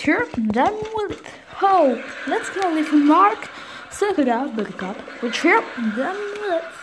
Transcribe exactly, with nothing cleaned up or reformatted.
here, then will it. Oh, let's go leave Mark. Suck it up, Buttercup. We're here, then will it.